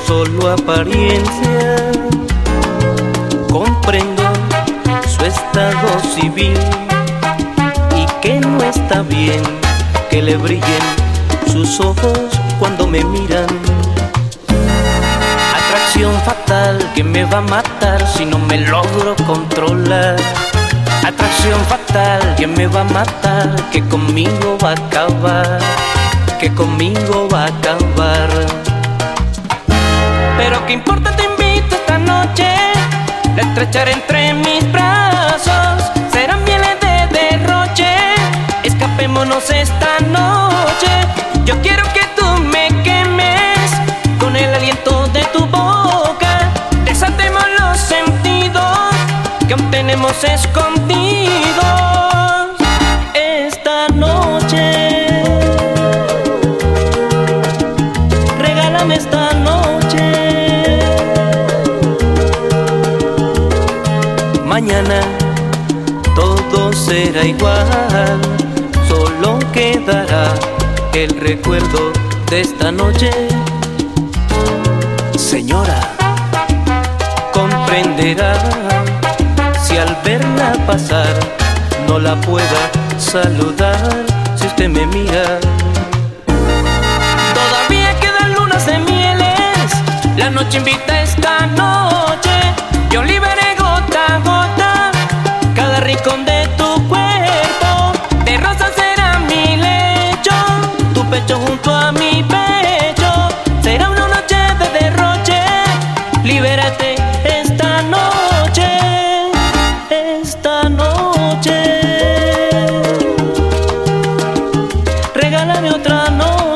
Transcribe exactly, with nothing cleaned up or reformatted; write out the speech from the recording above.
solo apariencia. Comprendo su estado civil y que no está bien que le brillen sus ojos cuando me miran. Atracción fatal que me va a matar si no me logro controlar. Atracción fatal que me va a matar, que conmigo va a acabar, que conmigo va a acabar. Pero qué importa, te invito esta noche, la estrecharé entre mis brazos. Serán mieles de derroche, escapémonos esta noche. Yo quiero que tú me quemes con el aliento de tu boca. Desatemos los sentidos que aún tenemos escondidos esta noche. Regálame esta noche. Mañana todo será igual, solo quedará el recuerdo de esta noche. Señora, comprenderá si al verla pasar no la pueda saludar. Si usted me mira, todavía quedan lunas de mieles, la noche invita esta noche. Yo liberé gota a gota cada rincón de tu cuerpo. De rosa será mi lecho, tu pecho junto a mi pecho. Será una noche de derroche, libérate esta noche, esta noche. Regálame otra noche.